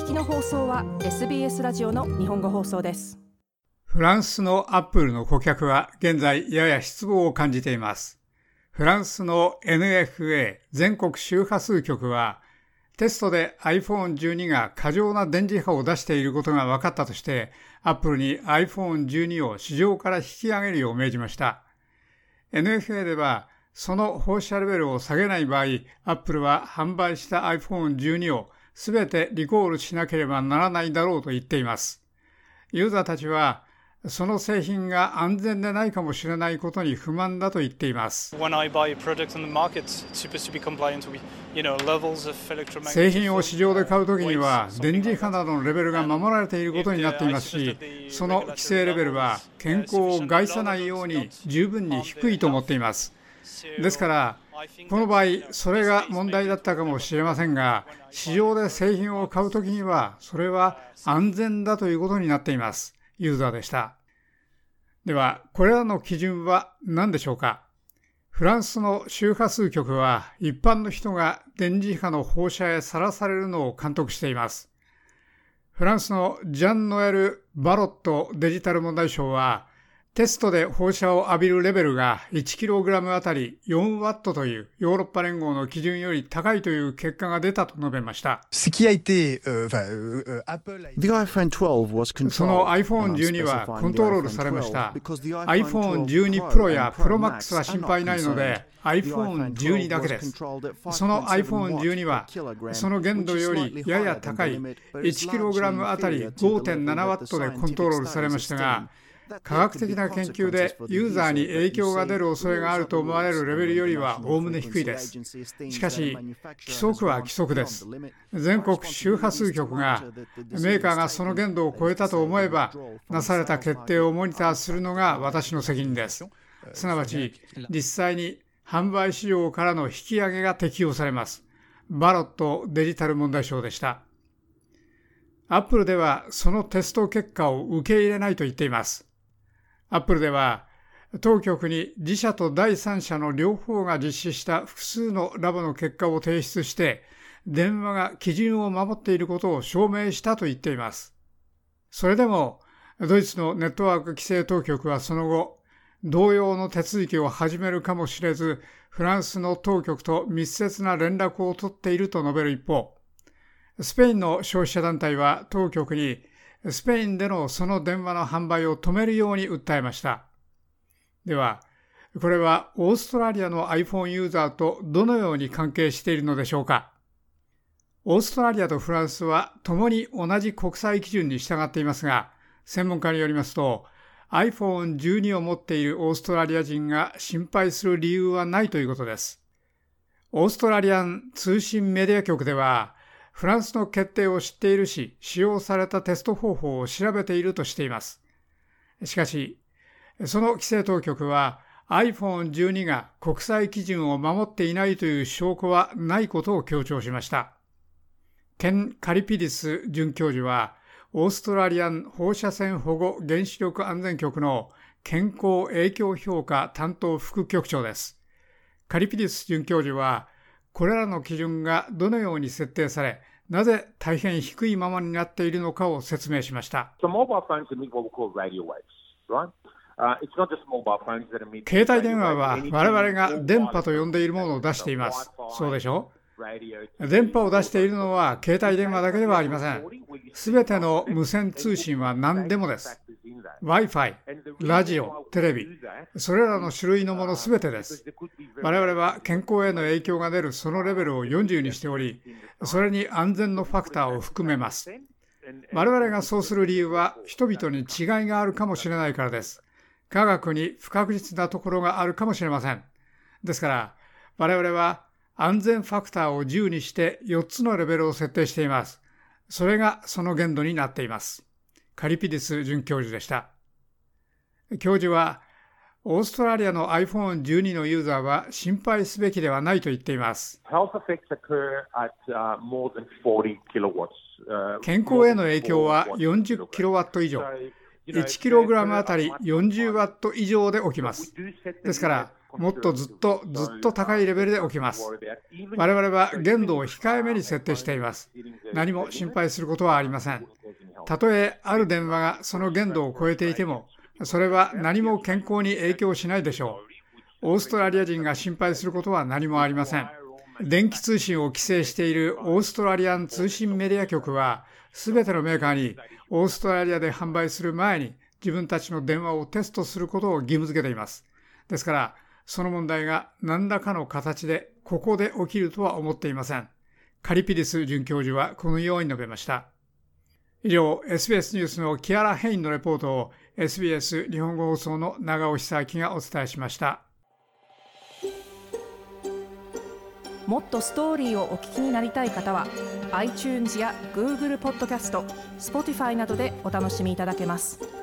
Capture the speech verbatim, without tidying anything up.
聞きの放送は エスビーエス ラジオの日本語放送です。 フランスのアップルの顧客は現在やや失望を感じています。フランスの エヌエフエー 全国周波数局はテストで アイフォンじゅうに が過剰な電磁波を出していることが分かったとしてアップルに アイフォンじゅうに を市場から引き上げるよう命じました。エヌエフエー ではその放射レベルを下げない場合、アップルは販売した アイフォンじゅうに をすべてリコールしなければならないだろうと言っています。ユーザーたちはその製品が安全でないかもしれないことに不満だと言っています。製品を市場で買うときには電磁波などのレベルが守られていることになっていますし、その規制レベルは健康を害さないように十分に低いと思っています。ですからこの場合それが問題だったかもしれませんが、市場で製品を買うときにはそれは安全だということになっています。ユーザーでした。ではこれらの基準は何でしょうか。フランスの周波数局は一般の人が電磁波の放射へさらされるのを監督しています。フランスのジャン・ノエル・バロットデジタル問題相はテストで放射を浴びるレベルが いちキログラム あたりよんワットというヨーロッパ連合の基準より高いという結果が出たと述べました。その アイフォンじゅうに はコントロールされました。アイフォンじゅうに Pro や Pro Max は心配ないので アイフォンじゅうに だけです。その アイフォンじゅうに はその限度よりやや高い いちキログラム あたり ごてんななワットでコントロールされましたが、科学的な研究でユーザーに影響が出る恐れがあると思われるレベルよりはおおむね低いです。しかし規則は規則です。全国周波数局がメーカーがその限度を超えたと思えばなされた決定をモニターするのが私の責任です。すなわち実際に販売市場からの引き上げが適用されます。バロットデジタル問題相でした。アップルではそのテスト結果を受け入れないと言っています。アップルでは当局に自社と第三者の両方が実施した複数のラボの結果を提出して電話が基準を守っていることを証明したと言っています。それでもドイツのネットワーク規制当局はその後同様の手続きを始めるかもしれず、フランスの当局と密接な連絡を取っていると述べる一方、スペインの消費者団体は当局にスペインでのその電話の販売を止めるように訴えました。では、これはオーストラリアの iPhone ユーザーとどのように関係しているのでしょうか。オーストラリアとフランスは共に同じ国際基準に従っていますが、専門家によりますと、アイフォンじゅうに を持っているオーストラリア人が心配する理由はないということです。オーストラリアン通信メディア局では、フランスの決定を知っているし、使用されたテスト方法を調べているとしています。しかし、その規制当局は アイフォンじゅうに が国際基準を守っていないという証拠はないことを強調しました。ケン・カリピディス准教授は、オーストラリアン放射線保護原子力安全局の健康影響評価担当副局長です。カリピディス准教授は、これらの基準がどのように設定され、なぜ大変低いままになっているのかを説明しました。携帯電話は我々が電波と呼んでいるものを出しています。そうでしょう？電波を出しているのは携帯電話だけではありません。すべての無線通信は何でもです。Wi-Fi、ラジオ、テレビ、それらの種類のものすべてです。我々は健康への影響が出るそのレベルをよんじゅうにしており、それに安全のファクターを含めます。我々がそうする理由は人々に違いがあるかもしれないからです。科学に不確実なところがあるかもしれません。ですから我々は安全ファクターをじゅうにしてよっつのレベルを設定しています。それがその限度になっています。カリピディス准教授でした。教授は、オーストラリアの アイフォンじゅうに のユーザーは心配すべきではないと言っています。健康への影響はよんじゅっキロワット以上、いちキログラムあたりよんじゅうワット以上で起きます。ですから、 もっとずっとずっと高いレベルで起きます。我々は限度を控えめに設定しています。何も心配することはありません。たとえある電話がその限度を超えていても、それは何も健康に影響しないでしょう。オーストラリア人が心配することは何もありません。電気通信を規制しているオーストラリアン通信メディア局は、すべてのメーカーにオーストラリアで販売する前に自分たちの電話をテストすることを義務付けています。ですから、その問題が何らかの形でここで起きるとは思っていません。カリピディス准教授はこのように述べました。以上、エスビーエス ニュースのキアラ・ヘインのレポートを エスビーエス 日本語放送の長尾久明がお伝えしました。 もっとストーリーをお聞きになりたい方は iTunes や Google ポッドキャスト、Spotify などでお楽しみいただけます。